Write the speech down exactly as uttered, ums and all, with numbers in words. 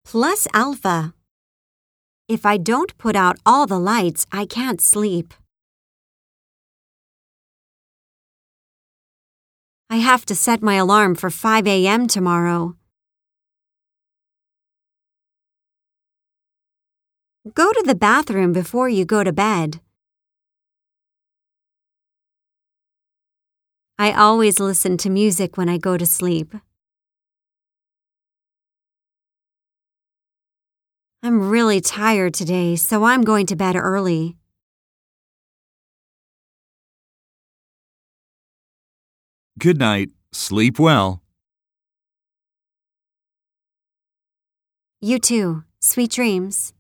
Plus alpha. If I don't put out all the lights, I can't sleep. I have to set my alarm for five a.m. tomorrow. Go to the bathroom before you go to bed. I always listen to music when I go to sleep. I'm really tired today, so I'm going to bed early. Good night. Sleep well. You too. Sweet dreams.